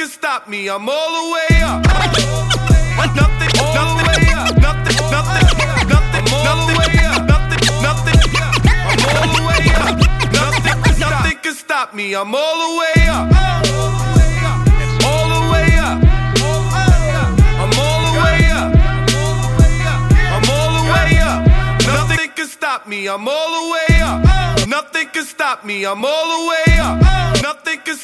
can stop me. I'm all the way up. Nothing, all the way up. Nothing, I'm all the way up. Nothing, I'm all the way up. Nothing can stop me. I'm all the way up. All the way up. I'm all the way up. I'm all the way up. Nothing can stop me. I'm all the way up. Nothing can stop me. I'm all the way up. Nothing can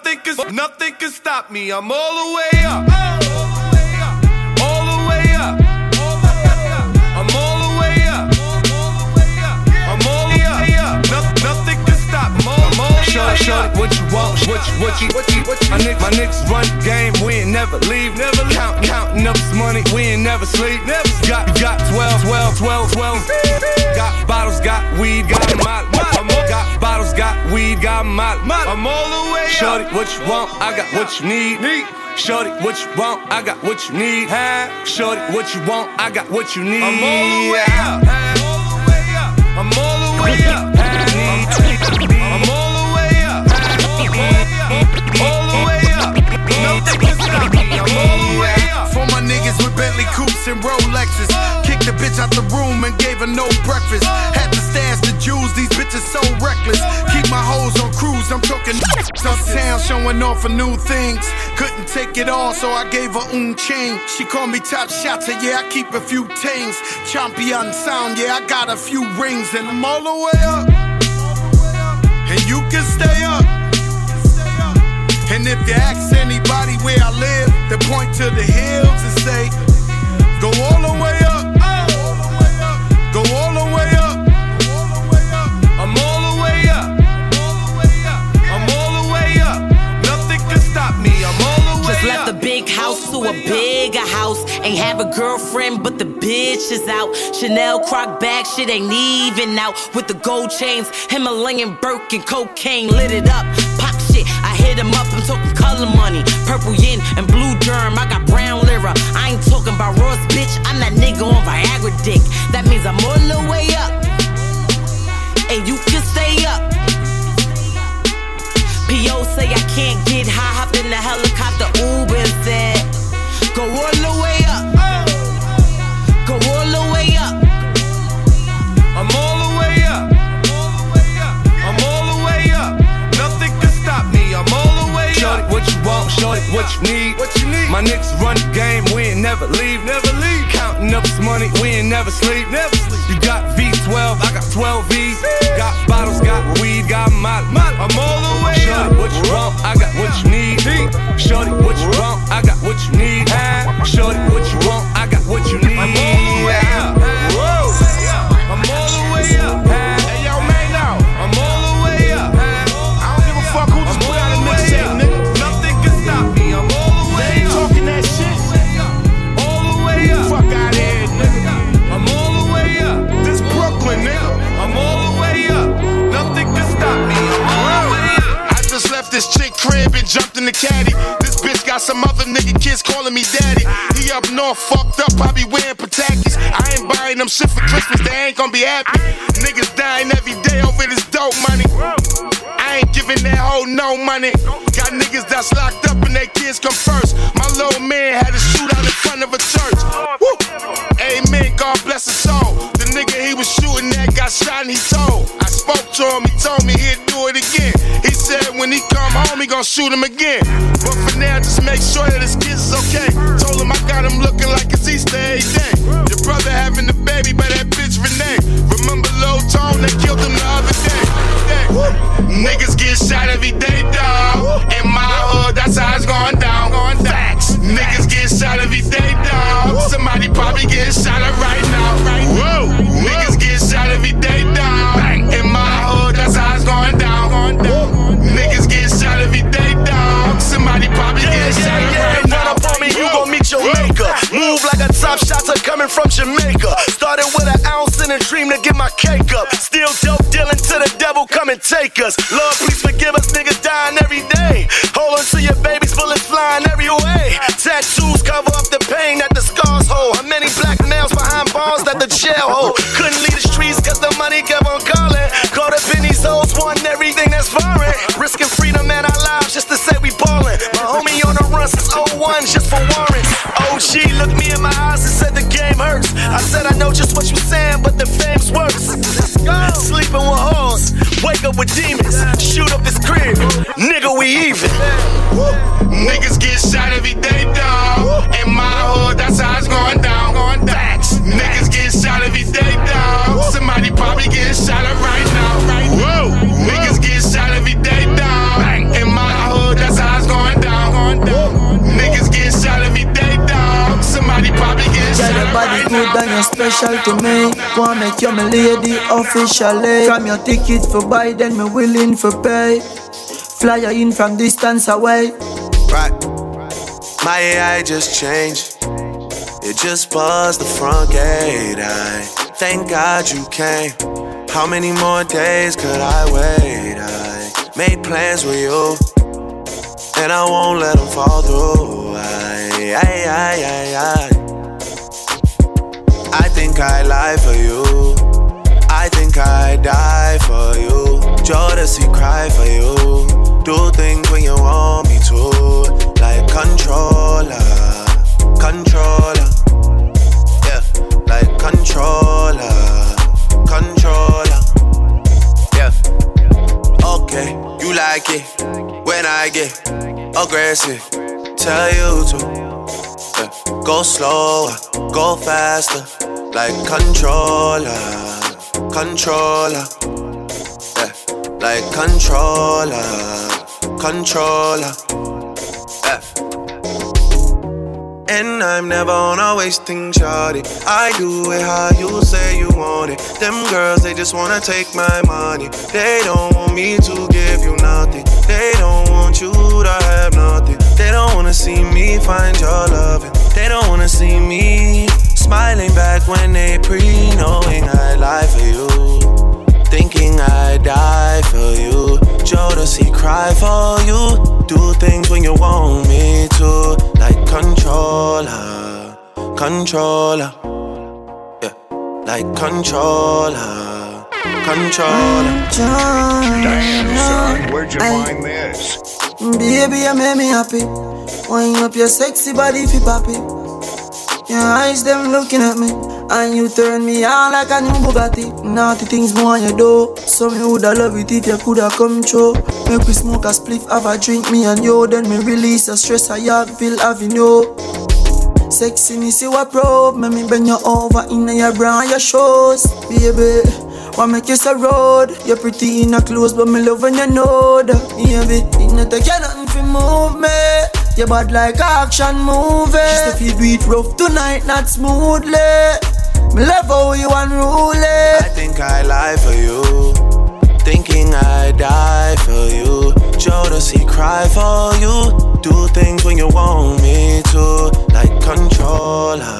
stop me. I'm all the way up. All the way up. I'm all the way up. I'm all the way up. Nothing can stop me. I'm all the way up. Shorty, what you want? What you? My niggas run the game. We ain't never leave. Counting up this money. We ain't never sleep. Got 12. Got bottles, got weed, got molly. Got bottles, got weed, got molly. I'm all the way up. Shorty, what you want? I got what you need. Shorty, what you want? I got what you need. Shorty, what you want? I got what you need. I'm all the way up. I'm all the way up. I'm all the way up. All the way up. Nothing can stop me. I'm all the way up. For my niggas with Bentley coupes and Rolexes, kicked the bitch out the room and gave her no breakfast. Had to stash the jewels, these bitches so reckless. Keep my hoes on cruise, I'm talking uptown, showing off for new things. Couldn't take it all, so I gave her chain. She called me top shotter, yeah, I keep a few tings. Champion sound, yeah, I got a few rings. And I'm all the way up, and you can stay up. And if you ask anybody where I live, they point to the hills and say, go all the way up. Go all the way up. I'm all the way up. I'm all the way up. Nothing can stop me. I'm all the way up. Just left the big house to a bigger house. Ain't have a girlfriend, but the bitch is out. Chanel croc bag, shit ain't even out. With the gold chains, Himalayan Birkin, cocaine lit it up. Pop shit, I hit him up. I'm talking color money, purple yin and blue germ. I got brown lira. I ain't talking about Ross, bitch. I'm that nigga on Viagra dick. That means I'm all the way up, and you can stay up. P.O. say I can't get high. Hopped in the helicopter, Uber and said, go all the way up. Go all the way up. I'm all the way up. I'm all the way up. Nothing can stop me. I'm all the way up. Shorty, what you want? Shorty, what you need? My niggas run the game. We ain't never leave. Counting up this money. We ain't never sleep. You got V12, I got 12 V's. Got bottles, got weed, got molly. I'm all the way up. Shorty, what you want? I got what you need. Shorty, what you want? I got what you need. Shorty, what you want? I got what you need. I'm all the way up. I'm all the way up. Hey, yo, man, now. I'm all the way up. I don't give a fuck who just put out a mixtape, nigga. Nothing can stop me. I'm all the way They ain't up. talking that shit. All the way up. Fuck out of here, nigga. I'm all the way up. This Brooklyn, nigga. I'm all the way up. Nothing can stop me. I'm all the way up. I just left this chick crib and jumped in the caddy. This bitch got some other nigga kids calling me daddy. He up north, fucked up, I be wearing Patakis. I ain't buying them shit for Christmas, they ain't gon' be happy. Niggas dying every day over this dope money. I ain't giving that hoe no money. Got niggas that's locked up and their kids come first. My little man had a shootout in front of a church. Woo! Amen, God bless his soul. The nigga he was shooting at got shot and he told. I spoke to him, he told me he'd do it again. He said when he come home, he gon' shoot him again. But for now, just make sure that his kids is okay. Told him I got him looking like it's Easter every day. Your brother having the baby by that bitch Renee. Remember Lil Tone, they killed him the other day. Niggas get shot every day, dawg. In my hood, that's how it's going down. Facts. Niggas get shot every day, dawg. Somebody probably getting shot up right now. Whoa. Niggas get shot every day, dawg. In my hood, that's how it's going down. Niggas get shot every day, dawg. Somebody probably getting shot up right now. Run up on me, you gon' meet your maker. Move like a top shotter coming from Jamaica. Started with an ounce in a dream to get my cake up. Still dope dealing to the devil, come and take us. Lord, please forgive us, niggas dying every day. Hold on to your babies, bullets flying every way. Tattoos cover up the pain that the scars hold. How many black males behind bars that the jail hold? Couldn't leave the streets cause the money kept on calling. Caught up in these hoes, wanting everything that's foreign. Risking freedom and our lives just to say we ballin'. My homie on the run, ones just for warrants. OG looked me in my eyes and said the game hurts. I said I know just what you saying, but the fame's worse. Sleeping with hoes, wake up with demons, shoot up his crib, nigga we even. Niggas get shot every day, dawg. In my hood, that's how it's going down. Niggas get shot every day, dawg. Somebody probably getting shot up right now. Whoa. Niggas get shot every day, dawg. In my hood, that's how it's going down. Niggas get shot every day, dawg. Somebody probably getting shot up right now. Your body good and you're special to me. Wanna make you my lady officially. From your ticket for buy, then me willing for pay. Fly you in from distance away. Right. My AI just changed. It just buzzed the front gate. I thank God you came. How many more days could I wait? I made plans with you, and I won't let them fall through. I think I lie for you. I think I die for you. Jodeci cry for you. Do things when you want me to. Like controller. Yeah, like controller. Yeah. Okay, you like it when I get aggressive. Tell you to go slower, go faster. Like controller. Yeah, like controller. Yeah. And I'm never on a wasting shawty. I do it how you say you want it. Them girls, they just wanna take my money. They don't want me to give you nothing. They don't want you to have nothing. They don't wanna see me find your loving. They don't wanna see me smiling back when they knowing I lie for you. Thinking I die for you. Jodeci cry for you. Do things when you want me to. Like controller. Yeah, like controller. Damn, son, where'd you find this? Baby, you make me happy. Wind up your sexy body if you poppy. Your eyes them looking at me, and you turn me on like a new Bugatti. Naughty things more you do, so me woulda love it if you coulda come true. Make we smoke a spliff, have a drink, me and you. Then me release the stress I Yorkville Avenue. Sexiness you a probe, make me bend you over in your bra and your shoes. Baby, wanna make you so road. You're pretty in your clothes, but me love when you know that. Baby, it not take you nothing to move me. You bad like action movie. Just if you do it rough tonight, not smoothly. Me love how you unruly. I think I lie for you. Thinking I die for you. Jodeci cry for you. Do things when you want me to. Like controller.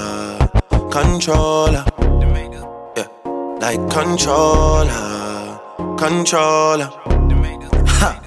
Yeah, like controller. Ha.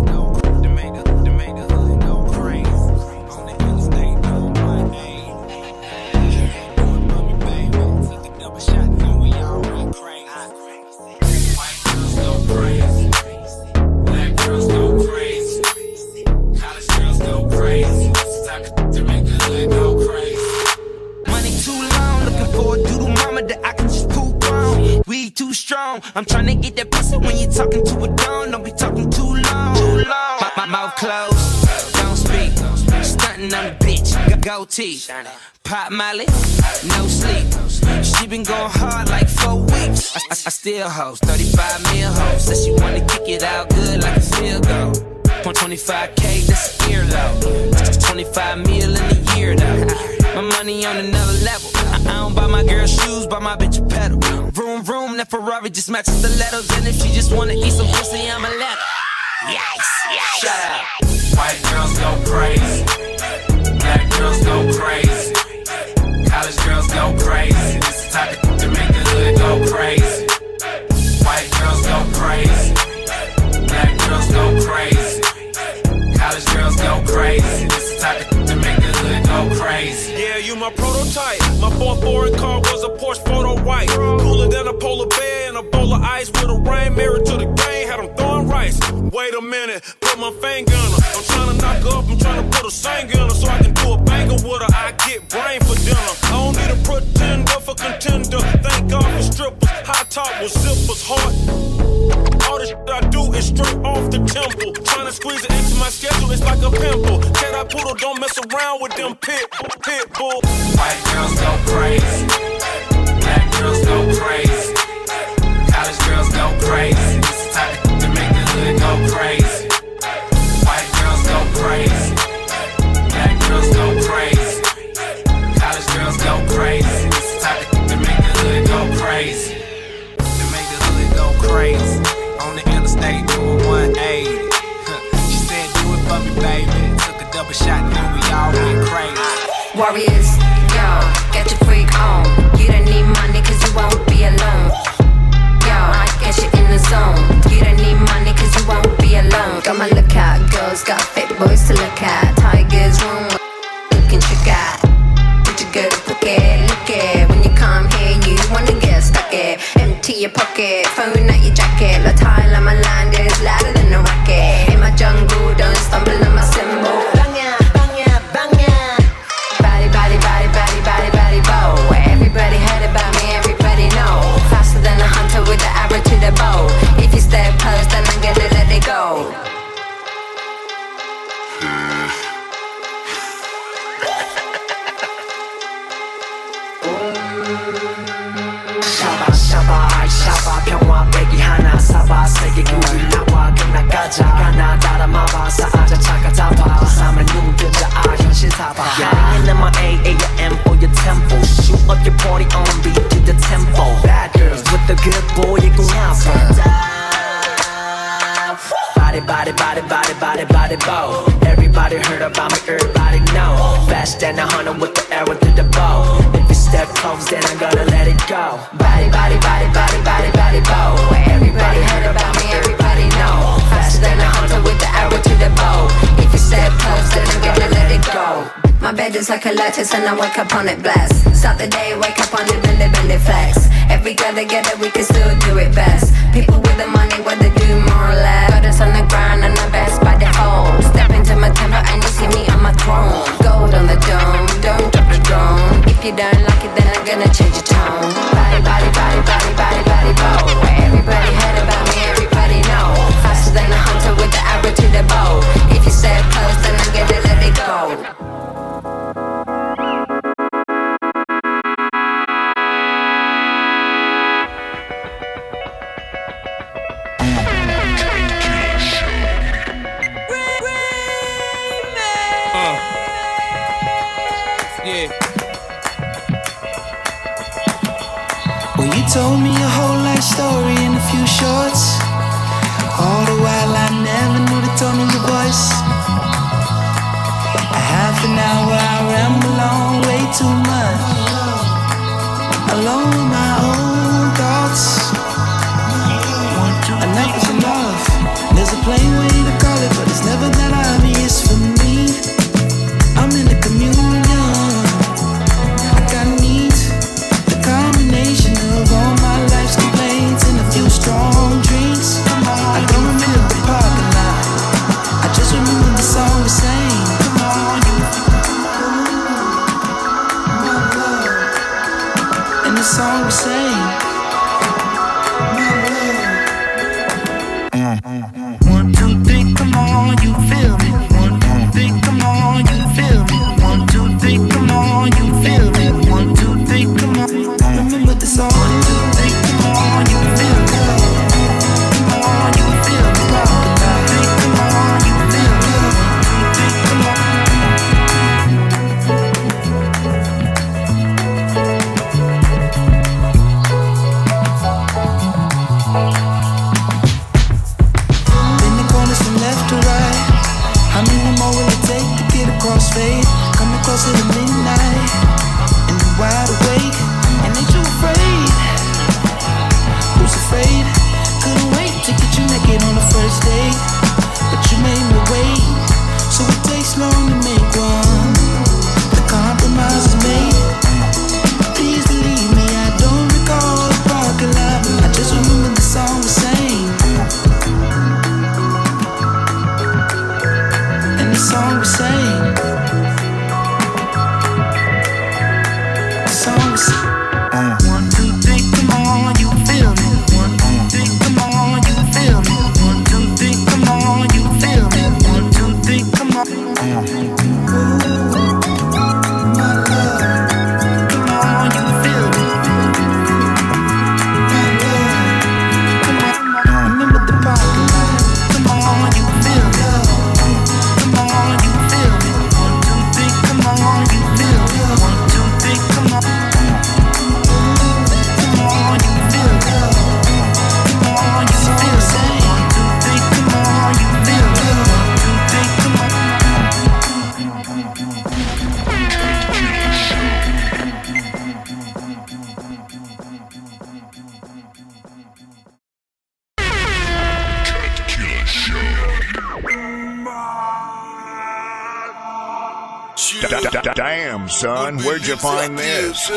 Too strong. I'm trying to get that pussy when you talking to a dawn. Don't be talking too long. My mouth closed, don't speak. Stunting on the bitch, goatee. Pop Molly, no sleep. She been going hard like 4 weeks. I still host 35 mil hoes. Said she wanna kick it out good like a field goal. 25K, that's a earlobe. 25 mil in a year though. My money on another level. I don't buy my girl shoes, buy my bitch a pedal. Vroom, that Ferrari just matches the letters. And if she just wanna eat some pussy, I'ma let her. Yikes. Shut up. White girls go crazy. Black girls go crazy. College girls go crazy. This the type of to make the hood go crazy. White girls go crazy. Black girls go crazy. College girls go crazy. This the type of to make the hood go crazy. Yeah, you my prototype. My fourth foreign car was a Porsche photo white. Cooler than a polar bear and a bowl of ice with a rain mirror to the game. Had them throwing rice. Wait a minute, put my finger on her. I'm trying to knock her up, I'm trying to put a singer on her so I can do a top was zippers hard. All the shit I do is straight off the temple. Trying to squeeze it into my schedule, it's like a pimple. Cat poodle, don't mess around with them pit bull. White girls go crazy. Black girls go crazy. College girls go crazy. It's the type of to make the hood go crazy. White girls go crazy. Black girls go crazy. College girls go crazy. It's the type of to make the hood go crazy. To make the hood go crazy. On the interstate doing 180. She said, do it for me, baby. Took a double shot, then we all went crazy. Warriors, yo, get your freak on. You don't need money cause you won't be alone. Yo, I get you in the zone. You don't need money cause you won't be alone. Got my lookout, girls got fit boys to look at. Tigers room, looking trick at. Put your good look it. When you come here, you wanna get stuck it. Empty your pocket, phone out your jacket. La tile on my land is louder than a rocket. In my jungle, don't stumble on my symbol. Bang ya, bang ya, bang ya. Body, body, body, body, body, body, bow. Everybody heard about me, everybody know. Faster than a hunter with the arrow to the bow. If you stay close, then I'm gonna let it go. 샤바 평화 빼기 하나 사바 세계 구리 나와 끝나가자 가나 따라 마바 사아자 차가 잡아 삶을 눈뜨자 현실 사바 Yelling in my AM for your tempo Shoot up your party on beat to the tempo Bad girls with the good boy you gon' have Body, body, body, body, body, body, bow Everybody heard about me, everybody know Fast and a hunter with the arrow to the bow If you step close then I'm gonna let it go Body, body, body, body, body, body, bow Everybody heard about me, everybody know Faster than a hunter with the arrow to the bow If you step close then I'm gonna let it go My bed is like a lattice and I wake up on it blessed Start the day, wake up on it, bend it, flex Every girl together we can still do it best People with the money, what they do more or less Got us on the grind and the best by default Step into my temple and you see me on my throne Gold on the dome, don't drop the drone If you don't like it then I'm gonna change your tone Body, body, body, body, body, body, bow Everybody heard about me, everybody know Faster than a hunter with the arrow to the bow If you step close then I'm gonna let it go Well, you told me your whole life story in a few shorts. All the while I never knew the tone of your voice. A half an hour I ramble on way too much. Alone with my own thoughts. Enough is enough. There's a plain way to call it, but it's never that obvious for me. I'm in the communion. I got needs. The combination of all my life's complaints and a few strong drinks. I don't remember the parking lot. I just remember the song we sang. And the song we sang. 1, 2, 3, come on, you feel me. 1, 2, 3, come on, you feel me. 1, 2, 3, come on, you feel me. 1, 2, 3, come on. Remember the song. 1, 2, 3, come on, you feel me. Come on, you feel me. 1, 2, 3, come on, you feel me. 1, 2, 3, come on. Bend the corners from left to right. How many more will it take to get across fate? Coming closer to midnight, and you're wide awake, and ain't you afraid? Damn, son, where'd you find this?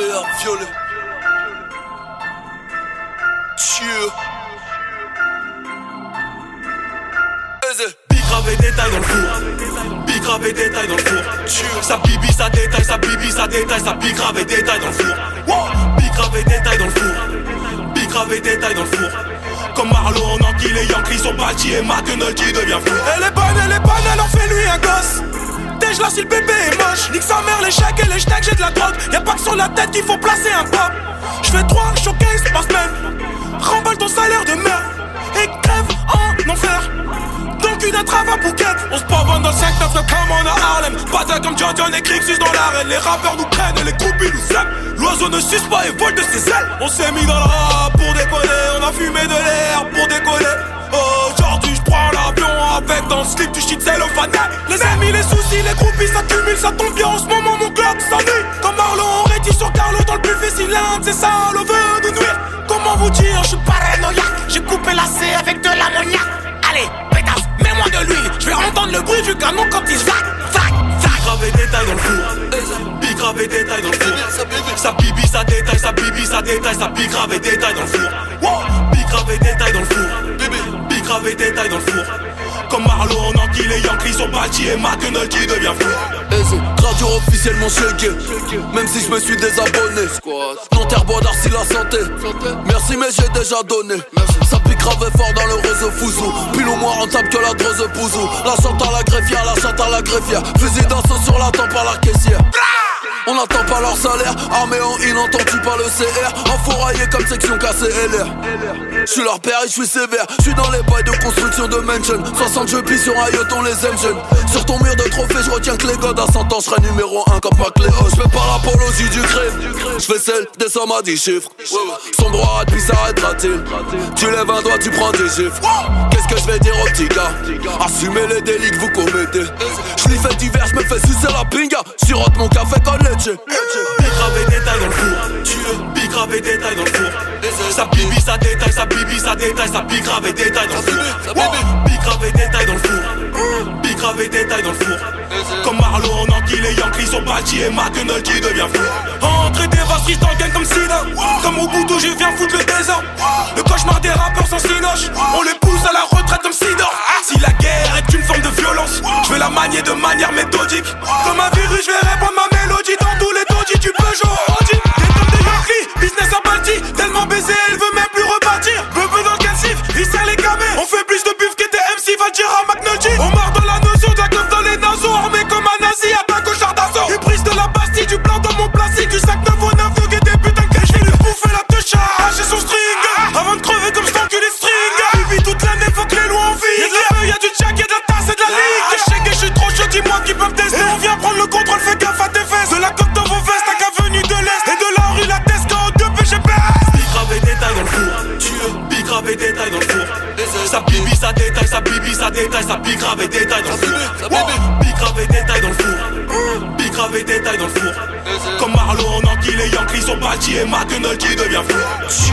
Bicrave détail dans le four. Bicrave détail dans le four. Ça bibi, ça détaille, ça bibi, ça détaille, ça bicrave détail dans le four. Bicrave détail dans le four. Bicrave détail dans le four. Comme Marlo en Anguille, les Yankees sont bâtis et McNulty devient fou. Elle est bonne, elle en fait lui un gosse. Dèche là si le bébé est moche. Nique sa mère, les chèques et les steaks, j'ai de la drogue. Y'a pas que sur la tête qu'il faut placer un pop. J'fais 3 showcases par semaine. Remballe ton salaire de merde et crève en enfer. Donc une entrave à bouquette. On se pavonne dans 5-9 comme on a Harlem. Bataille comme John et Crixus dans l'arène. Les rappeurs nous prennent et les groupies nous aiment. L'oiseau ne suce pas et vole de ses ailes. On s'est mis dans le rap pour décoller. On a fumé de l'air pour décoller. Aujourd'hui j'prends l'avion avec dans le slip du shit cellophane. Les amis, les soucis, les groupies s'accumulent. Ça tombe bien en ce moment, mon club s'ennuie. Comme Marlon, on rétit sur Carlo dans le buffet. Si l'un de ces salauds veut nous nuire, comment vous dire, je suis paranoïaque. J'ai coupé la C avec de l'ammoniaque. Allez, pétasse, mets-moi de l'huile. Je vais entendre le bruit du canon quand il zac. Bicrave détail dans le four. Bicrave détail dans le four. Ça bibi, ça détaille, ça bibi, ça détaille, ça bicrave détail dans le four. Bicrave détail dans le four. Bicrave détail dans le four. Comme Marlo en Anguille, les Yankees sont bâtis et McNulty devient fou. Radio officiellement checké. Même si je me suis désabonné. Nanterre, Bois d'Arcy, la santé. Merci mais j'ai déjà donné. Ça pique grave fort dans le réseau fouzou. Pile ou moins rentable que la drose pouzou. La chante à la greffière, la chante à la greffière. Fusil d'assaut sur la tempe à la caissière. On n'attend pas leur salaire, armé en inentendu par le CR. Enfouraillé comme section KCLR. J'suis leur père et j'suis sévère. J'suis dans les bails de construction de mansion. 60 jeux pis sur un yacht, on les aime jeunes. Sur ton mur de trophée, j'retiens que les godes à 100 ans, j'serai numéro 1 comme McLeod. J'fais pas l'apologie du crime, j'fais celle des sommes à 10 chiffres. Son droit puis s'arrêtera-t-il. Tu lèves un doigt, tu prends des chiffres. Qu'est-ce que j'vais dire aux petits gars? Assumez les délits que vous commettez. J'l'y fais divers, j'me fais sucer la pinga. Sirote mon café comme leche. Bicrave détail dans le four. Bicrave détail dans le four. Ça bibi, ça détaille, ça bibi, ça détaille, ça bicrave détail dans le four. Bicrave détail dans le four. Bicrave détail dans le four. Comme Marlo en Anguille, les Yankees sont bâtis et McNulty devient fou. Entrée des vasseries dans le gang comme Sina. Comme Mobutu, je viens foutre le désordre. Le cauchemar des rappeurs sans cinoche. On les pousse à la retraite comme Sidor. Si la guerre est une forme de violence, je vais la manier de manière méthodique. Comme un virus, je vais répandre ma mélodie dans tous les dodis du Peugeot. Des tonnes de Yankee, business à Balti. Tellement baisé, elle veut même plus repartir. Bebe dans le calcif, il serre les gamins. On fait plus de buff qu'était MC, va dire à McNulty. On marre dans la notion de la clope dans les naseaux. Armé comme un nazi, attaque au char d'assaut. Et prise de la Bastille, du blanc dans mon plastique. Du sac 9 au 9, donc et des putains de je vais lui bouffer la touche à arracher son string. Avant de crever comme je t'encule les strings. Bibi toute l'année, faut que les lois en vie. Y'a de la y'a du jack, y'a de la tasse et de la ligue. Je sais que je suis trop chaud, dis-moi qui peuvent tester. On vient prendre le contrôle, fais gaffe à tes fesses. De la coque dans vos vestes, à qu'avenue de l'Est. Et de la rue, la Tesca en 2 PGPS. Bicrave détail dans le four. Bicrave détail dans le four. Ça bibi, ça détaille, ça bibi, ça détaille, ça bicrave détail dans le four. Bicrave détail dans le four. Bicrave détail dans le four. Comme Marlo en Anguille, les Yankees sont bâtis et McNulty devient fou.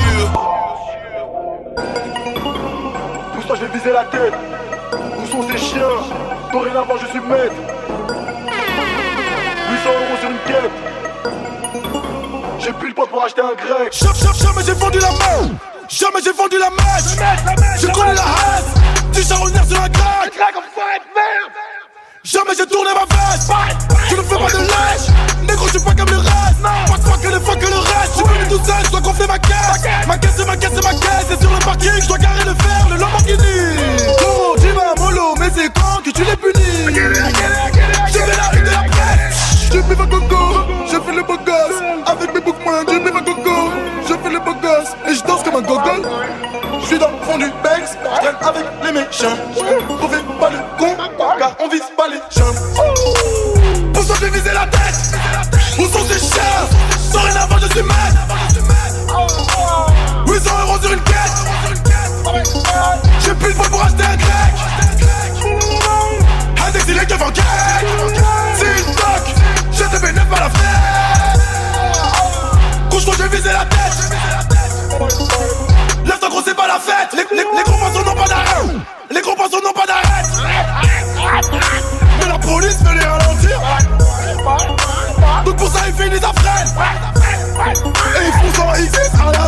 Pour ça je vais viser la tête. Où sont ces chiens? Dorénavant je suis maître. 800 € sur une quête. J'ai plus le poids pour acheter un grec. Jamais j'ai vendu la main. Jamais j'ai vendu la mèche. Je connais la haine. Du charognard sur un grec. Jamais j'ai tourné ma veste. Je ne fais pas de lèche. Négro, je suis pas comme le reste. Passe-moi que les fois que le reste. Je suis venu tout seul, je dois gonfler ma caisse. Ma caisse, c'est ma caisse, c'est ma caisse. Et sur le parking, je dois garer le fer, le Lamborghini. Oh, dis ma mollo, mais c'est quand que tu l'es puni? Je fais la rue de la pièce. Je mets ma coco, je fais le beau gosse. Avec mes boucles moindres, je mets ma coco. Je fais le beau gosse et je danse comme un gogol. Je suis dans le fond du Bex, je traîne avec les méchants. On fait pas le con, car on vise pas les gens. Pour ça j'ai visé la tête. Où sont ces chiens? Dorénavant je suis maître. 800 € sur une quête. J'ai plus le poids pour acheter un grec. Un exilé qui va en quête. C'est une toque, j'ai des bénéfices à la fenêtre. Couche-toi j'ai visé la tête. Lève-toi gros, c'est pas la fête. Les gros poissons n'ont pas d'arrêt. Les gros poissons n'ont pas d'arrêt. Mais la police veut les ralentir.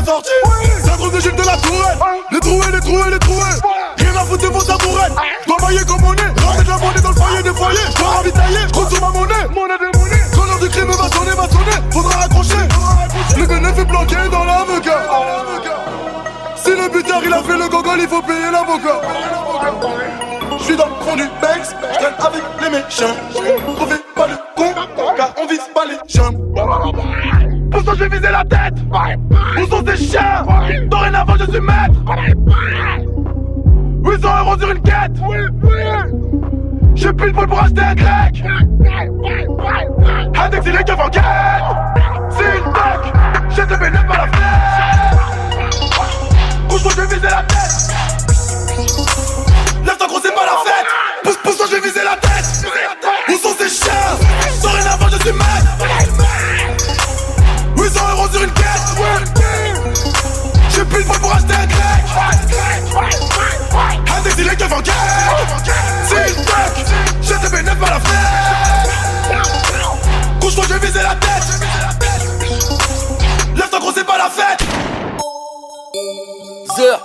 sorties. C'est un truc de Gilles de la Tourelle. Les troués. Rien à foutre de vos tabourettes. J'dois mailler comme on est. Ramener de la monnaie dans le foyer des foyers. J'dois ravitailler, j'compte sur ma monnaie. Quand l'heure du crime va sonner. Faudra raccrocher. Le bénéfice est bloqué dans l'avocat. Si le buteur il a fait le gogol, il faut payer l'avocat. J'suis dans le fond du Banks, j'traîne avec les méchants. Trouvez pas le con, car on vise pas les jambes. Pour ça j'ai visé la tête. Où sont ces chiens? Dorénavant je suis maître. 800 € sur une quête. J'ai pile poil pour acheter un grec. Index il est keuf en quête. C'est une toque. J'ai te bénéf par la fenêtre. Pousse-toi j'ai visé la tête. Lève-toi gros c'est pas la fête. Pousse-toi j'ai visé la tête. Où sont ces chiens? Dorénavant je suis maître. 800 € sur une quête. J'ai pile poil pour acheter un grec. Index il est keuf en quête. C'est une toque. J'ai te bénéf par la fenêtre. Couche-toi j'ai visé la tête. Lève-toi gros c'est pas la fête. Zer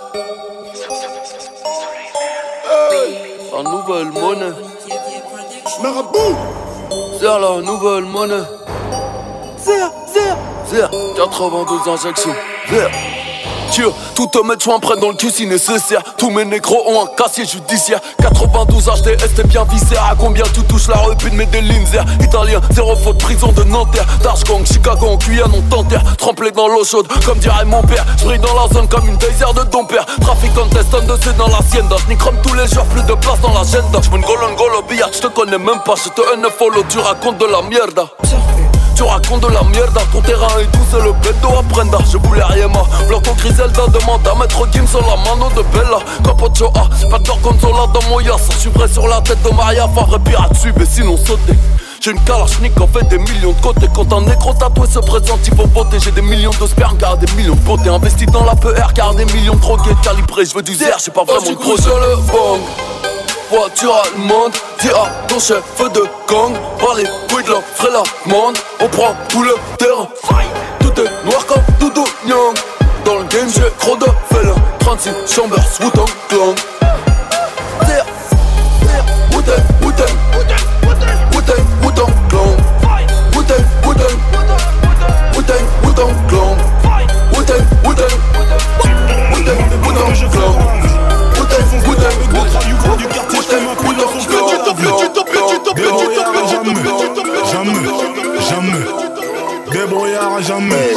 la nouvelle monnaie. Marabout. Zer la nouvelle monnaie. Zer 92 injections. Zer tout te met soin près dans le cul si nécessaire. Tous mes négros ont un casier judiciaire. 92 HDS t'es bien viscère. À combien tu touches la rue puis de des Linzer. Italien, 0 faute, prison de Nanterre. Darchgang, Chicago en Guyane on t'enterre. Trempé dans l'eau chaude comme dirait mon père. J'brille dans la zone comme une désert de ton père. Trafiquant teston de c'est dans l'hacienda. J'nique comme tous les jours, plus de place dans l'agenda. J'm'en golo au billard, j'te connais même pas. J'te follow, tu racontes de la mierda. Tu racontes de la merde, ton terrain est doux, c'est le bédo à prenda. Je voulais rien, bloc au Griselda, demande à mettre Kim sur la mano de Bella. Capocho A, pas de gorgonzola dans mon yas. Je suis prêt sur la tête de Maria, Favre pirate suivre, mais sinon sauter. J'ai une kalachnik en fait des millions de côtés. Quand un négro tatoué se présente, il faut voter. J'ai des millions de sperme car des millions de beauté. Investi dans la PR car des millions de drogués calibrés. Je veux du zère, j'ai pas vraiment de gros sur le bang. Voiture allemande, dis à ton chef de gang. Par les couilles de la frélamande, on prend tout le terrain. Tout est noir comme Doudou Nyang. Dans le game j'ai trop de félins. 36 chambers, Wu-Tang Clan. Wu-Tang, Wu-Tang, Wu-Tang, Wu-Tang Clan. Wu-Tang, Wu-Tang, Wu-Tang, Wu-Tang Clan. Wu-Tang, Wu-Tang, Wu-Tang, Wu-Tang Clan. Jamais. Débrouillard à jamais.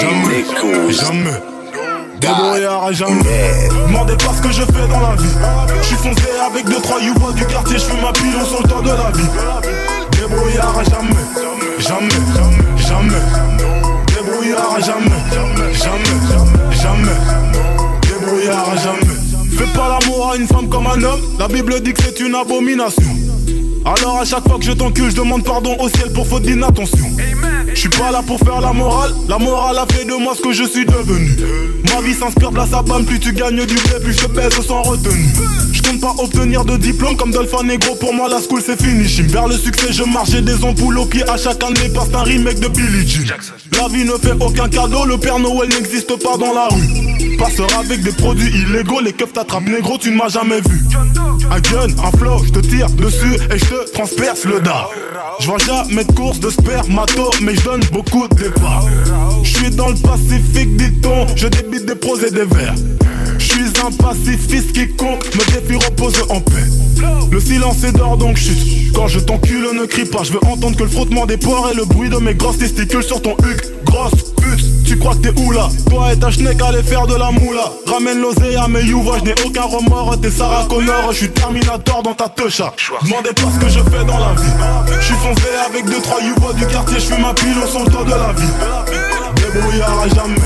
Débrouillard à jamais. Demandez pas ce que je fais dans la vie. J'suis foncé avec 2-3 youbois du quartier. J'fume ma pilon sur le temps de la vie. Débrouillard à jamais. Débrouillard à jamais. Débrouillard à jamais. Fais pas l'amour à une femme comme un homme. La Bible dit que c'est une abomination. Alors à chaque fois que je t'encule, je demande pardon au ciel pour faute d'inattention. Je suis pas là pour faire la morale a fait de moi ce que je suis devenu. Ma vie s'inspire de la sabane, plus tu gagnes du blé, plus je te pèse sans retenue. Je compte pas obtenir de diplôme comme Dolphin Negro, pour moi la school c'est fini. J'aime vers le succès, je marche, j'ai des ampoules aux pieds à chacun de mes pas, c'est un remake de Billie Jean. La vie ne fait aucun cadeau, le Père Noël n'existe pas dans la rue. Passeur avec des produits illégaux, les keufs t'attrapent négro, tu ne m'as jamais vu. Un gun, un flow, je te tire dessus et je te transperce le dard. Je vois jamais de course de spermato, mais je donne beaucoup de départs. Je suis dans le Pacifique, dit-on, je débite des pros et des vers. Je suis un pacifiste quiconque me défie repose en paix. Le silence est d'or donc chut. Quand je t'encule ne crie pas. Je veux entendre que le frottement des pores et le bruit de mes grosses testicules sur ton huc. Grosse pute, tu crois que t'es où là? Toi et ta schneck allez faire de la moula. Ramène l'osé à mes youvois, je n'ai aucun remords. T'es Sarah Connor, je suis Terminator dans ta techa. Demandez pas ce que je fais dans la vie. Je suis foncé avec 2-3 youvois du quartier. Je fume ma pile au son le temps de la vie. Débrouillard à jamais.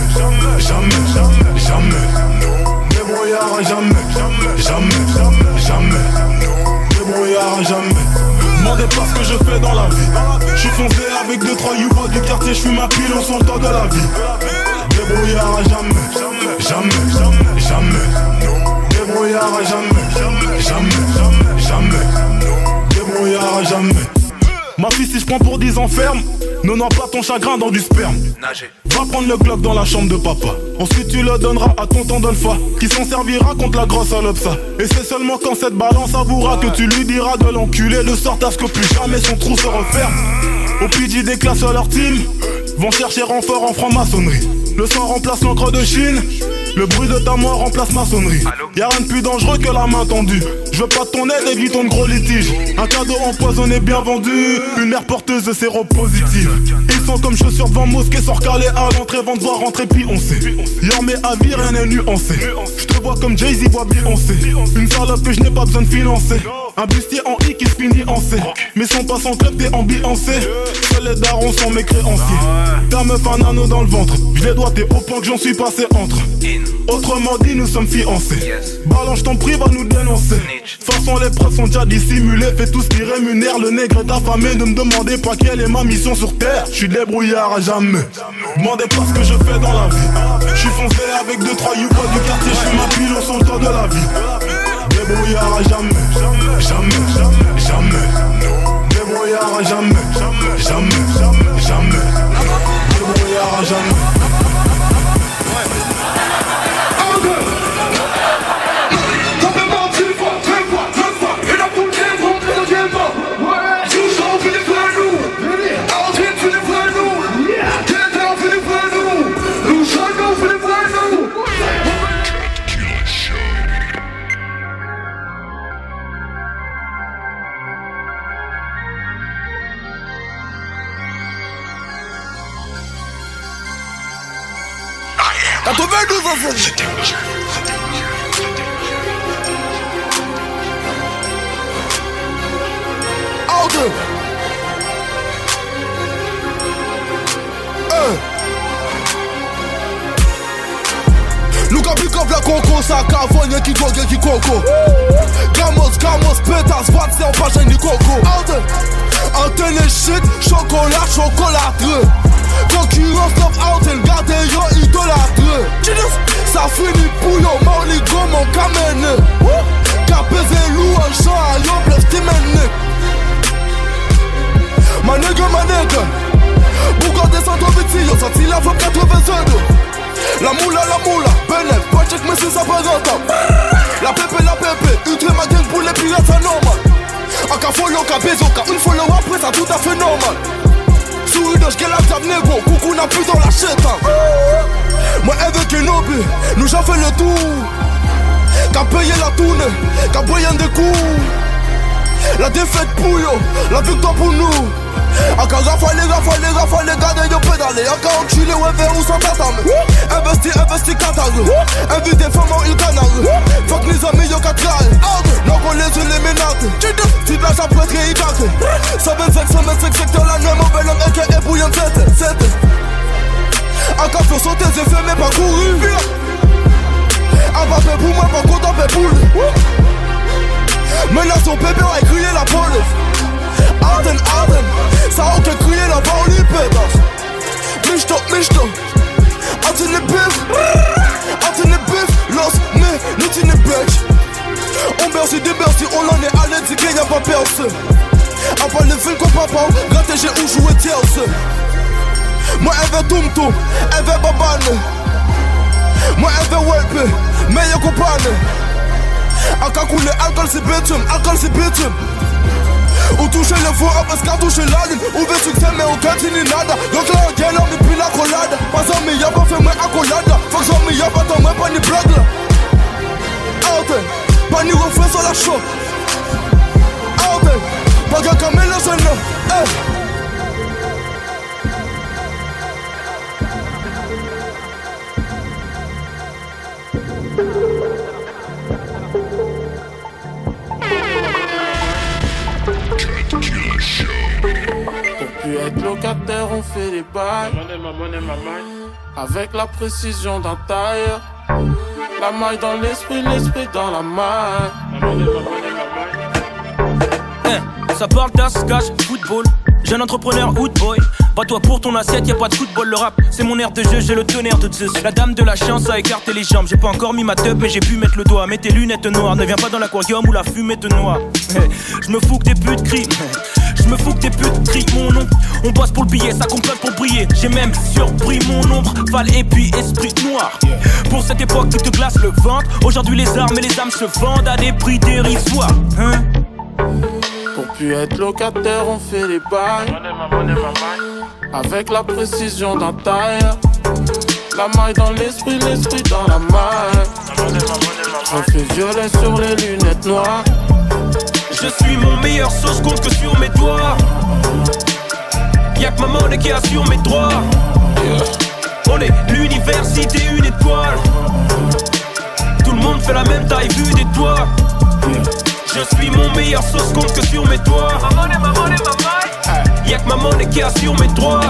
Débrouillard à jamais. Débrouillard à jamais. Demandez pas ce que je fais dans la vie. Je suis foncé avec 2-3 youvois du quartier. Je fume ma pile au son le temps de la vie. Débrouillard à jamais. Débrouillard à jamais. Débrouillard à jamais. Ma fille si je prends pour 10 ans ferme, ne noie pas ton chagrin dans du sperme. Va iras prendre le Glock dans la chambre de papa. Ensuite tu le donneras à tonton Dolpha, qui s'en servira contre la grosse Alopsa. Et c'est seulement quand cette balance avouera que tu lui diras de l'enculer, de sorte à ce que plus jamais son trou se referme. Au PJ des classes leur team vont chercher renfort en franc-maçonnerie. Le sang remplace l'encre de Chine, le bruit de ta mort remplace maçonnerie. Y'a rien de plus dangereux que la main tendue. Je veux pas de ton aide, évitons de gros litiges. Un cadeau empoisonné bien vendu, une mère porteuse de séropositive. Ils sont comme chaussures devant mosquée, sort calé à l'entrée, vont devoir rentrer puis on sait. Y'en met à vie, rien n'est nuancé. Je te vois comme Jay-Z voit Beyoncé. Une salope que je n'ai pas besoin de financer. Un bustier en I qui se finit en C. Mais son passe en club, t'es ambiancé. Seuls les darons sont mes créanciers. Ta meuf un anneau dans le ventre. Je les dois, t'es au point que j'en suis passé entre. Autrement dit, nous sommes fiancés. Balance ton prix, va nous dénoncer. Façon, les preuves sont déjà dissimulées. Fais tout ce qui rémunère le nègre est affamé. Ne me demandez pas quelle est ma mission sur terre. Je suis débrouillard à jamais. Demandez pas ce que je fais dans la vie. Je suis foncé avec 2-3 youpas du quartier. Je fais ma pile au centre de la vie. Débrouillard à jamais. Jamais, jamais, jamais. Débrouillard à jamais. Jamais, jamais. Débrouillard à jamais. Luka pick up la conco, ça cavogne qui gogue qui coco. Gamos, pétasse, voix c'est en page ni coco. Antenne shit, chocolatreux. Concurrence top Alten, gardez yo idolâtreux. Ça finit pour yo, Marley go mon camène. Capézé loup en champ à yo, blesse t'es mené. Ma nègre. Pourquoi descendre vite si yo, sorti la femme 82. La moula, Benel, pas check mais c'est ça pas rentable. La pépé, ultra ma gang pour les pirates c'est normal. En cas follow, cas bézo, cas une follow après ça tout à fait normal. Souris de j'qu'est la table négro, coucou n'a plus dans la chétan. Moi avec un hobby, nous j'en fait le tour. Qu'a payé la tourne, qu'a payé des coups. La défaite pour yo, la victoire pour nous. Encore rafale, gardez yo pédale. Encore enculé, ouais, vers où sont t'attendre. Investi, catare. Invité femme il canard. Fuck les amis, yo catare. Non, on les unes les ménates. Tu te lâches après, il caque. 125 secteur la nuit, mauvais homme, et bouillon 7. Encore faut sauter, j'ai fait mes parcours. Abappé pour moi, pas content, pour lui. Maintenant son bébé a crié la police. Arden, ça a aucun crié la parole, pétasse. Michto, Arden et bif, los, mais, nous t'y n'est bitch. On berce des bercy, on en est allé, dit qu'il n'y a pas percé. À part les films qu'on papa, gratter j'ai où jouer tierce. Moi elle veut tum, elle veut babane. Moi elle veut welpe, mais y'a compagne. Aka coule alcool c'est bitume. Ou toucher le faux parce qu'à toucher la lune. Ou veut succès mais au continue nada. Donc là on gagne on est plus la collade. Pas en mi y'a pas fait moi accolade. Faut que j'en mi y'a pas tant moi pas ni blague là. Out, pas ni refrain sur la show. Out, pas qu'à camer le jeune. Être locataire, on fait des bails. Avec la précision d'un tailleur. La maille dans l'esprit dans la maille. Ça parle d'as, cash, football. Jeune entrepreneur, hood boy. Pas toi pour ton assiette, y'a pas de football. Le rap, c'est mon air de jeu, j'ai le tonnerre de Zeus. La dame de la chance a écarté les jambes. J'ai pas encore mis ma teub, mais j'ai pu mettre le doigt. Mets tes lunettes noires, ne viens pas dans l'aquarium où la fumée te noie. Je me fous que tes putes crient. Je me fous que des putes crient mon nom. On bosse pour le billet, ça complote pour briller. J'ai même surpris mon ombre, Val et puis esprit noir. Pour cette époque qui te glace le ventre. Aujourd'hui les armes et les âmes se vendent à des prix dérisoires. Hein? Pour plus être locataire, on fait les bails. Avec la précision d'un tailleur. La maille dans l'esprit, l'esprit dans la maille. Reflet violet sur les lunettes noires. Je suis mon meilleur sauce compte que sur mes doigts. Y'a que ma monnaie qui assure mes droits. On est l'université, une étoile. Tout le monde fait la même taille vue des toits. Je suis mon meilleur sauce compte que sur mes doigts. Y'a que ma monnaie qui assure mes droits.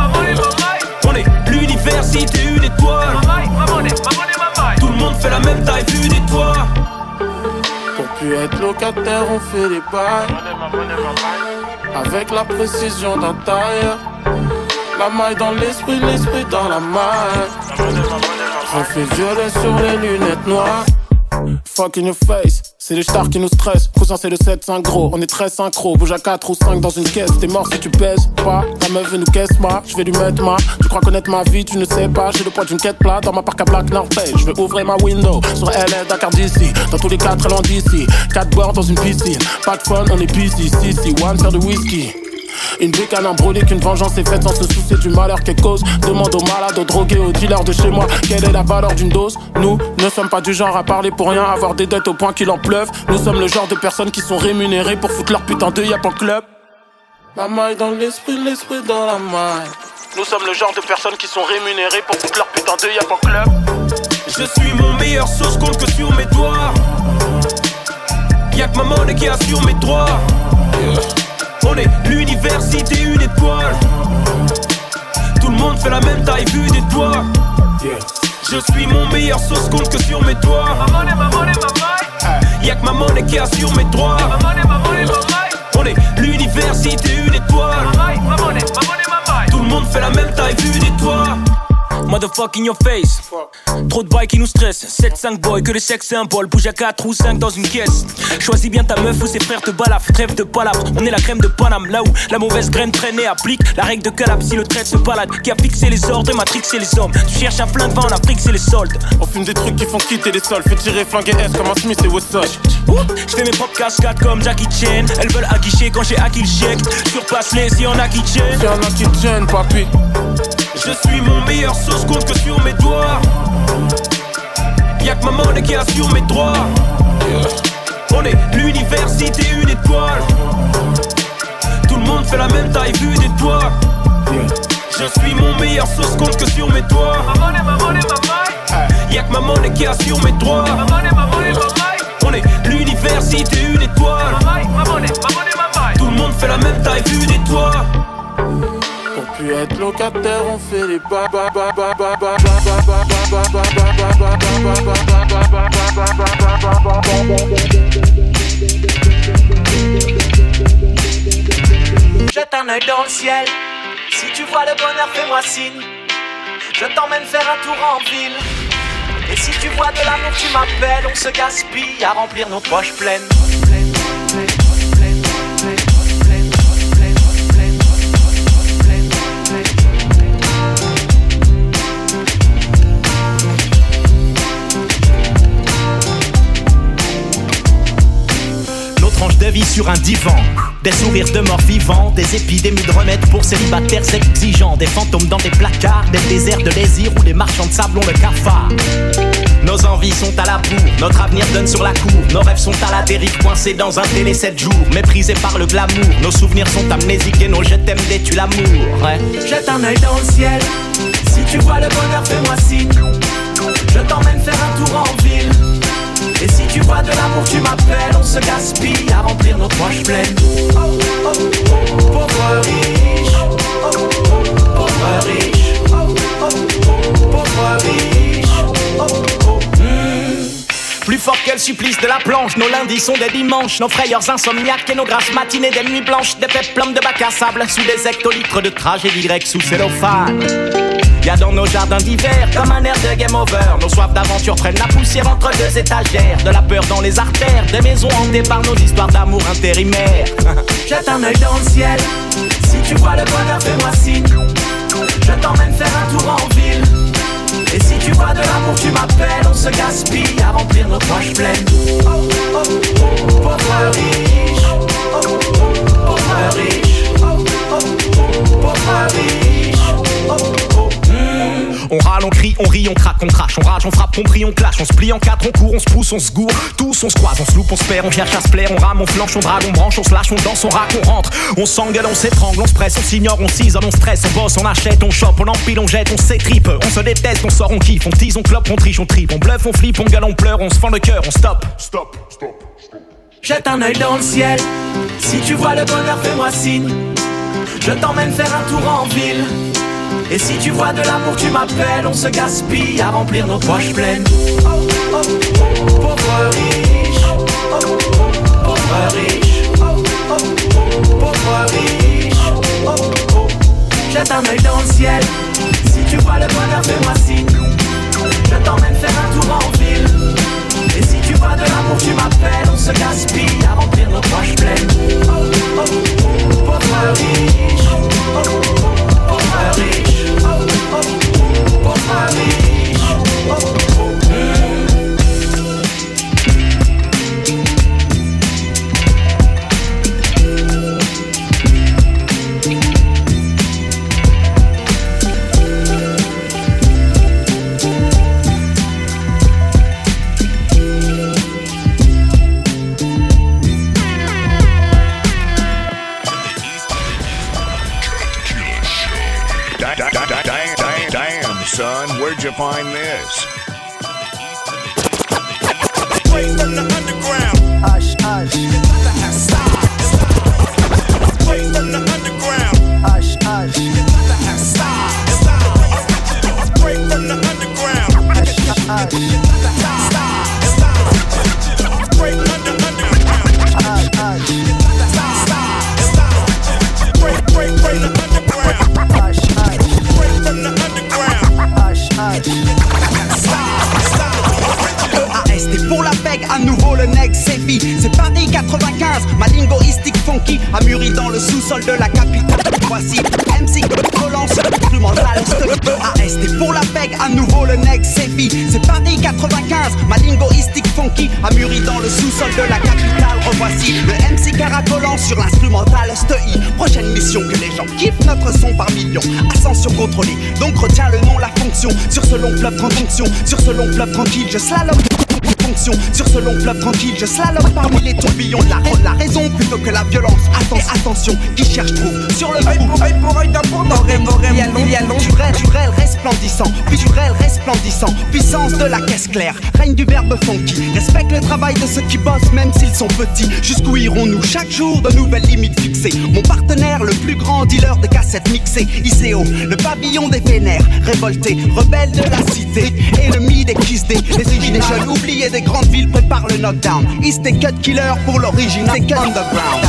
On est l'université, une étoile. Tout le monde fait la même taille vue des toits. Pour plus être locataire, on fait les bails. Avec la précision d'un tailleur. La maille dans l'esprit, l'esprit dans la maille. Reflet violet sur les lunettes noires. Fuck in your face, c'est les stars qui nous stressent. Cousin c'est le 7-5 gros, on est très synchro. Bouge à 4 ou 5 dans une caisse, t'es mort si tu pèses pas. Ta meuf veut nous caisse moi, je vais lui mettre ma. Tu crois connaître ma vie, tu ne sais pas. J'ai le poids d'une quête plate dans ma parc à Black Norvège. Je vais ouvrir ma window sur LA, Dakar d'ici. Dans tous les cas très loin d'ici. 4 boires dans une piscine, pas de fun, on est busy. Si, one faire de whisky. Une brique à l'embrouille qu'une vengeance est faite sans se soucier du malheur qu'elle cause. Demande aux malades, aux drogués, aux dealers de chez moi quelle est la valeur d'une dose. Nous ne sommes pas du genre à parler pour rien, avoir des dettes au point qu'il en pleuve. Nous sommes le genre de personnes qui sont rémunérées pour foutre leur putain de yap en club. La maille dans l'esprit, l'esprit dans la maille. Nous sommes le genre de personnes qui sont rémunérées pour foutre leur putain de yap en club. Je suis mon meilleur sauce compte que sur mes doigts. Y'a que ma monnaie qui assure mes droits. On est l'université, une étoile. Tout le monde fait la même taille vue des toits. Je suis mon meilleur sauce compte que sur mes doigts. Y'a que ma monnaie qui assure mes droits. On est l'université, une étoile. Tout le monde fait la même taille vue des toits. Motherfucking your face. Trop de bails qui nous stressent. 7-5 boys, que le sexe symbole. Bouge à 4 ou 5 dans une caisse. Choisis bien ta meuf ou ses frères te balafrent. Trêve de palabres, on est la crème de Paname. Là où la mauvaise graine traîne et applique la règle de Calab si le trait se balade. Qui a fixé les ordres et matrixé les hommes. Tu cherches un flingue, va en Afrique, c'est les soldes. On fume des trucs qui font quitter les sols. Fais tirer flingue et S comme un Smith et Wesson. J'fais mes propres cascades comme Jackie Chan. Elles veulent aguicher quand j'ai acquis le chèque. Surpasse-les si y'en a qui tiennent. Y'en a qui tiennent, papi. Je suis mon meilleur sauce compte que sur mes doigts. Y'a que ma monnaie qui assure mes droits. On est l'université, une étoile. Tout le monde fait la même taille vue des toits. Je suis mon meilleur sauce compte que sur mes doigts. Y'a que ma monnaie qui assure mes droits. On est l'université, une étoile. Tout le monde fait la même taille vue des toits. Pour plus être locataire, on fait les Jette un œil dans le ciel. Si tu vois le bonheur, fais-moi signe. Je t'emmène faire un tour en ville. Et si tu vois de l'amour, tu m'appelles. On se gaspille à remplir nos poches pleines. Tranche de vie sur un divan, des sourires de morts vivants, des épidémies de remèdes pour célibataires exigeants, des fantômes dans des placards, des déserts de désir où les marchands de sable ont le cafard. Nos envies sont à la bourre, notre avenir donne sur la cour, nos rêves sont à la dérive, coincés dans un télé 7 jours, méprisés par le glamour, nos souvenirs sont amnésiques et nos je t'aime détuent l'amour. Ouais. Jette un œil dans le ciel, si tu vois le bonheur, fais-moi signe. Je t'emmène faire un tour en ville. Et si tu vois de l'amour, tu m'appelles. On se gaspille à remplir nos poches pleines. Pauvre riche, pauvre riche, pauvre riche. Plus fort que le supplice de la planche, nos lundis sont des dimanches, nos frayeurs insomniaques et nos grasses matinées des nuits blanches, des péplomes de bac à sable sous des hectolitres de tragédie grecque sous cellophane. Y'a dans nos jardins d'hiver comme un air de game over. Nos soifs d'aventure prennent la poussière entre deux étagères. De la peur dans les artères, des maisons hantées par nos histoires d'amour intérimaires. Jette un œil dans le ciel, si tu vois le bonheur fais-moi signe. Je t'emmène faire un tour en ville. Et si tu vois de l'amour tu m'appelles. On se gaspille à remplir nos poches pleines. Oh, oh, oh, pauvre riche. Oh, oh, pauvre riche. Oh, oh, pauvre riche. Oh, oh. On râle, on crie, on rit, on craque, on crache, on rage, on frappe, on prie, on clash, on se plie en quatre, on court, on se pousse, on se gourre, tous on se croise, on se loupe, on se perd, on cherche à se plaire, on rame, on flanche, on drague, on branche, on se lâche, on danse, on raque, on rentre, on s'engueule, on s'étrangle, on se presse, on s'ignore, on s'isole, on stresse, on bosse, on achète, on chope, on empile, on jette, on s'étripe, on se déteste, on sort, on kiffe, on tease, on clope, on triche, on tripe, on bluffe, on flippe, on gueule, on pleure, on se fend le cœur, on stop. Jette un œil dans le ciel, si tu vois le bonheur fais-moi signe. Je t'emmène faire un tour en ville. Et si tu vois de l'amour tu m'appelles. On se gaspille à remplir nos poches pleines. Oh, oh, oh, pauvre riche. Oh, oh, pauvre riche. Oh, oh, pauvre riche. Oh, oh. Jette un œil dans le ciel, si tu vois le bonheur fais-moi signe. Je t'emmène faire un tour en ville. Et si tu vois de l'amour tu m'appelles. On se gaspille à remplir nos poches pleines. Oh, oh, oh, pauvre riche. Oh, oh, pauvre riche. Oh, oh, pauvre riche. Oh, oh, Damn, son, where'd you find this? Straight from the underground. Hush, hush. Straight from the underground. Hush, hush. Straight from the underground. Hush, hush. Straight from the underground. Hush, hush. Straight from the underground. Hush, hush. Straight from the underground. Hush, hush. EAST pour la peg, à nouveau le nec Sefi. C'est Paris 95, ma lingoïstique funky a mûri dans le sous-sol de la capitale. Voici MC Collant sur l'instrumental EAST pour la peg, à nouveau le nec Sefi. C'est Paris 95, ma lingoïstique funky a mûri dans le sous-sol de la capitale. Revoici le MC caracolant sur l'instrumental STI. Prochaine mission que les gens kiffent notre son par millions. Ascension contrôlée, donc retiens le nom, la fonction. Sur ce long fleuve tranquille, sur ce long fleuve tranquille, je slalom. Sur ce long fleuve tranquille, je slalom parmi les tourbillons de la raison plutôt que la violence. Attention, qui cherche trouve. Sur le œil pour œil, d'un pour d'un il y a naturel resplendissant, puissance de la caisse claire, règne du verbe funky. Respecte le travail de ceux qui bossent même s'ils sont petits. Jusqu'où irons-nous chaque jour, de nouvelles limites fixées. Mon partenaire, le plus grand dealer de cassettes mixées, ICO, le pavillon des vénères, révolté, rebelle de la cité. Et le mid des Kiss Day, les origines des jeunes oubliés des grandes villes préparent le knockdown. East et Cut Killer pour l'original, c'est Cut Underground.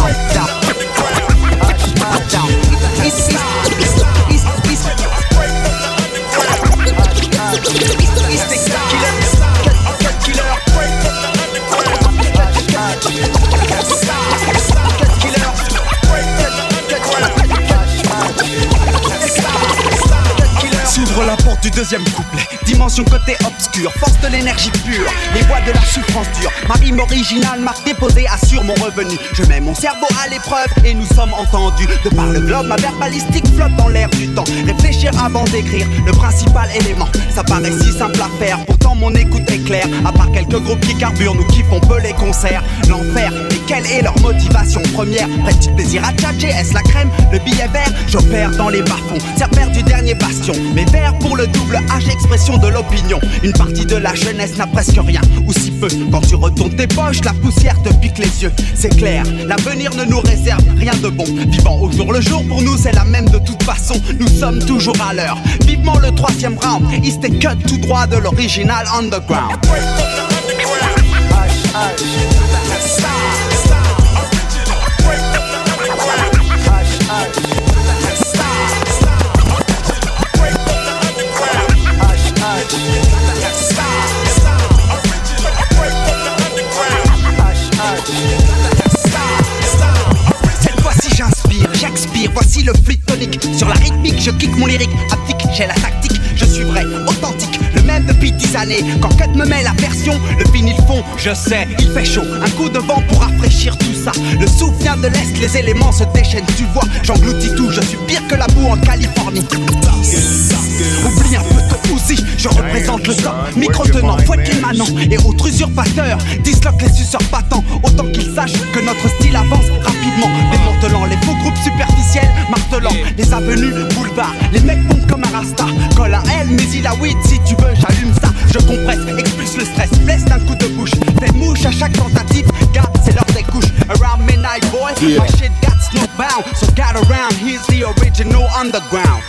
S'ouvre la porte du deuxième couplet. Dimension côté obscur, force de l'énergie pure. Les voix de la souffrance dure. Ma rime originale, marque déposée, assure mon revenu. Je mets mon cerveau à l'épreuve et nous sommes entendus. De par le globe, ma verbalistique flotte dans l'air du temps. Réfléchir avant d'écrire, le principal élément. Ça paraît si simple à faire, pourtant mon écoute est claire. À part quelques groupes qui carburent, nous kiffons peu les concerts. L'enfer, et quelle est leur motivation première? Prête-tu plaisir à tchatcher? Est-ce la crème, le billet vert? J'opère dans les bas-fonds, serpère du dernier bastion. Mes vers pour le double H, expression de l'opinion. Une partie de la jeunesse n'a presque rien, ou si peu. Quand tu retournes tes poches, la poussière te pique les yeux. C'est clair, l'avenir ne nous réserve rien de bon. Vivant au jour le jour, pour nous c'est la même de toute façon. Nous sommes toujours à l'heure. Vivement le troisième round, East et Cut tout droit de l'original underground. 10 années. Quand Cut me met la version, le vinyle fond, je sais, il fait chaud. Un coup de vent pour rafraîchir tout ça. Le souffle vient de l'Est, les éléments se déchaînent, tu vois. J'engloutis tout, je suis pire que la boue en Californie. Oublie un peu ton Uzi, je représente le top. Micro-tenant, fouette les manants et autres usurpateurs. Disloque les suceurs battants, autant qu'ils sachent que notre style avance rapidement. Démantelant les faux groupes superficiels, martelant les avenues, boulevards. Les mecs pompent comme un rasta. Colle à elle, mais il a weed, si tu veux, j'allume ça. Je compresse, expulse le stress, blesse d'un coup de bouche. Fais mouche à chaque tentative, gars, c'est l'heure des couches. Around midnight, boy, my shit got snowbound. So get around, here's the original underground.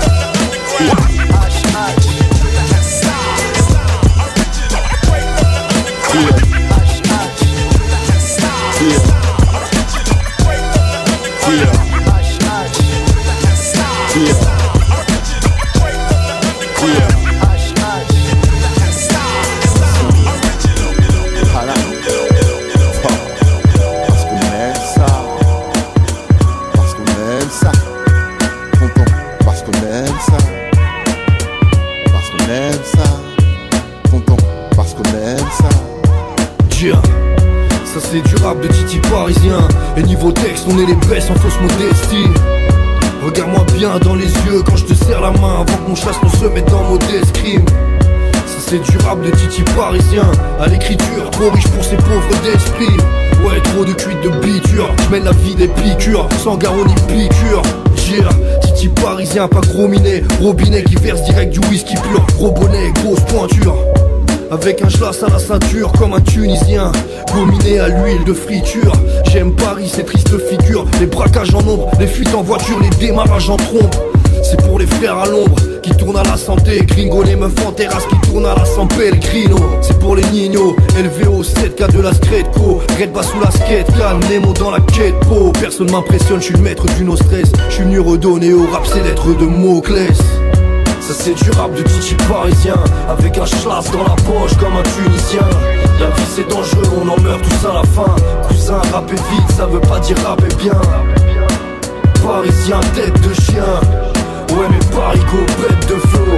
Ça c'est du rap de Titi parisien. Et niveau texte on est les best en fausse modestie. Regarde-moi bien dans les yeux quand je te serre la main avant qu'on chasse on se mette dans modeste crime. Ça c'est du rap de Titi parisien. À l'écriture, trop riche pour ces pauvres d'esprit. Ouais, trop de cuites de biture. J'mène la vie des piqûres, sans garrot ni piqûre. Titi parisien, pas gros minet. Robinet qui verse direct du whisky pur. Gros bonnet, grosse pointure. Avec un schlass à la ceinture comme un Tunisien. Gominé à l'huile de friture. J'aime Paris, ces tristes figures. Les braquages en ombre, les fuites en voiture, les démarrages en trombe. C'est pour les frères à l'ombre qui tournent à la santé. Gringo, les meufs en terrasse qui tournent à la San Pellegrino. C'est pour les nignos, LVO 7K de la Scredco. Red bas sous la skate, can Nemo dans la quête po. Personne m'impressionne, je suis le maître du no stress. Je suis venu redonner au rap ses lettres de Moclès. Ça c'est du rap de Titi parisien. Avec un schlass dans la poche comme un Tunisien. La vie c'est dangereux, on en meurt tous à la fin. Cousin, rapper vite, ça veut pas dire rapper bien. Parisien, tête de chien. Ouais mais Paris go, bête de flow.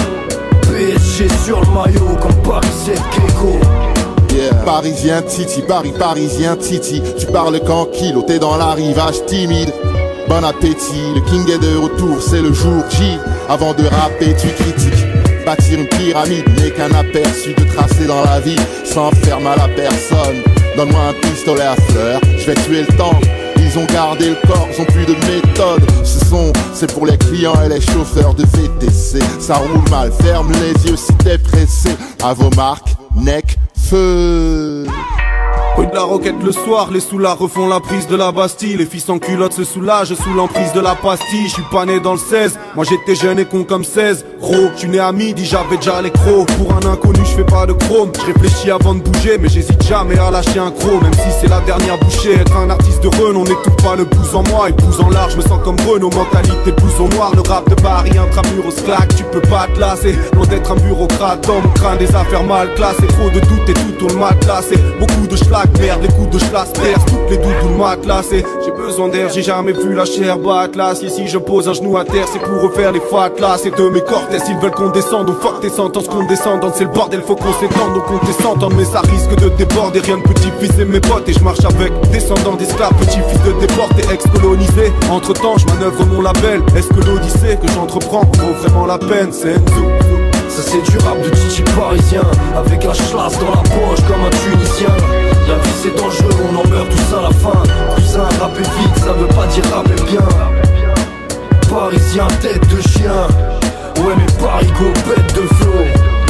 PSG sur le maillot comme Paris 7 Keiko. Yeah. Parisien Titi, parisien Titi. Tu parles qu'en kilo, t'es dans l'arrivage timide. Bon appétit, le king est de retour, c'est le jour J. Avant de rapper, tu critiques. Bâtir une pyramide n'est qu'un aperçu de tracer dans la vie sans faire mal à personne. Donne-moi un pistolet à fleurs, je vais tuer le temps. Ils ont gardé le corps, ils ont plus de méthode. C'est pour les clients et les chauffeurs de VTC. Ça roule mal, ferme les yeux si t'es pressé. À vos marques, neck, feu. Rue de la Roquette le soir, les soulards refont la prise de la Bastille. Les filles sans culottes se soulagent sous l'emprise de la pastille. Je suis pas né dans le 16, moi j'étais jeune et con comme 16. Gros, je suis né à midi, j'avais déjà les crocs. Pour un inconnu, je fais pas de chrome. Je réfléchis avant de bouger, mais j'hésite jamais à lâcher un croc. Même si c'est la dernière bouchée, être un artiste de renom, on n'étouffe pas le pouce en moi. Et pouce en large, je me sens comme Renault, mentalité pouce au noir. Le rap de Paris, intramuros claque, tu peux pas te lasser. Loin d'être un bureaucrate, dans mon crâne des affaires mal classées. Trop de doutes et tout tourne mal classé. Beaucoup de schlag, merde, les coups de schlass percent toutes les doudounes matelassées. J'ai besoin d'air, j'ai jamais vu la chair battre l'acier. Si je pose un genou à terre, c'est pour refaire les fatlas. C'est de mes cortès, ils veulent qu'on descende. Au fuck tes sentences, qu'on descende. C'est le bordel, faut qu'on s'étende. Donc on descende, mais ça risque de déborder. Rien de petit-fils et mes potes. Et je marche avec descendants d'esclaves, petits-fils de déportés, ex-colonisés. Entre temps, je manœuvre mon label. Est-ce que l'odyssée que j'entreprends vaut vraiment la peine? C'est tout. Ça c'est du rap de Titi parisien. Avec un schlass dans la poche comme un Tunisien. La vie c'est dangereux, on en meurt tous à la fin. Cousin, rapper vite, ça veut pas dire rapper bien. Parisien, tête de chien. Ouais mais Paris go, bête de flow.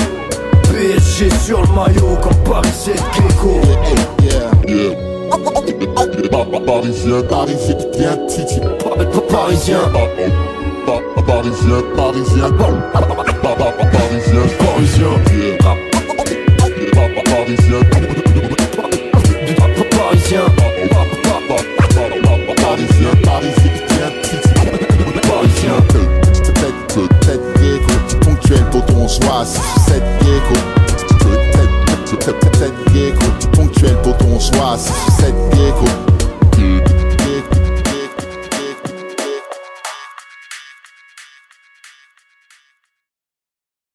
PSG sur le maillot comme Paris 7 Keiko. Parisien, parisien qui vient Titi. Parisien. Parisien, parisien. Parisien, parisien. Parisien. Parisien. Parisien, parisien qui vient Titi. Parisien. Tête gecko, ponctuel pour ton soir 6 ou 7 gecko. Tête gecko, ponctuel pour ton soir 6 ou 7 gecko.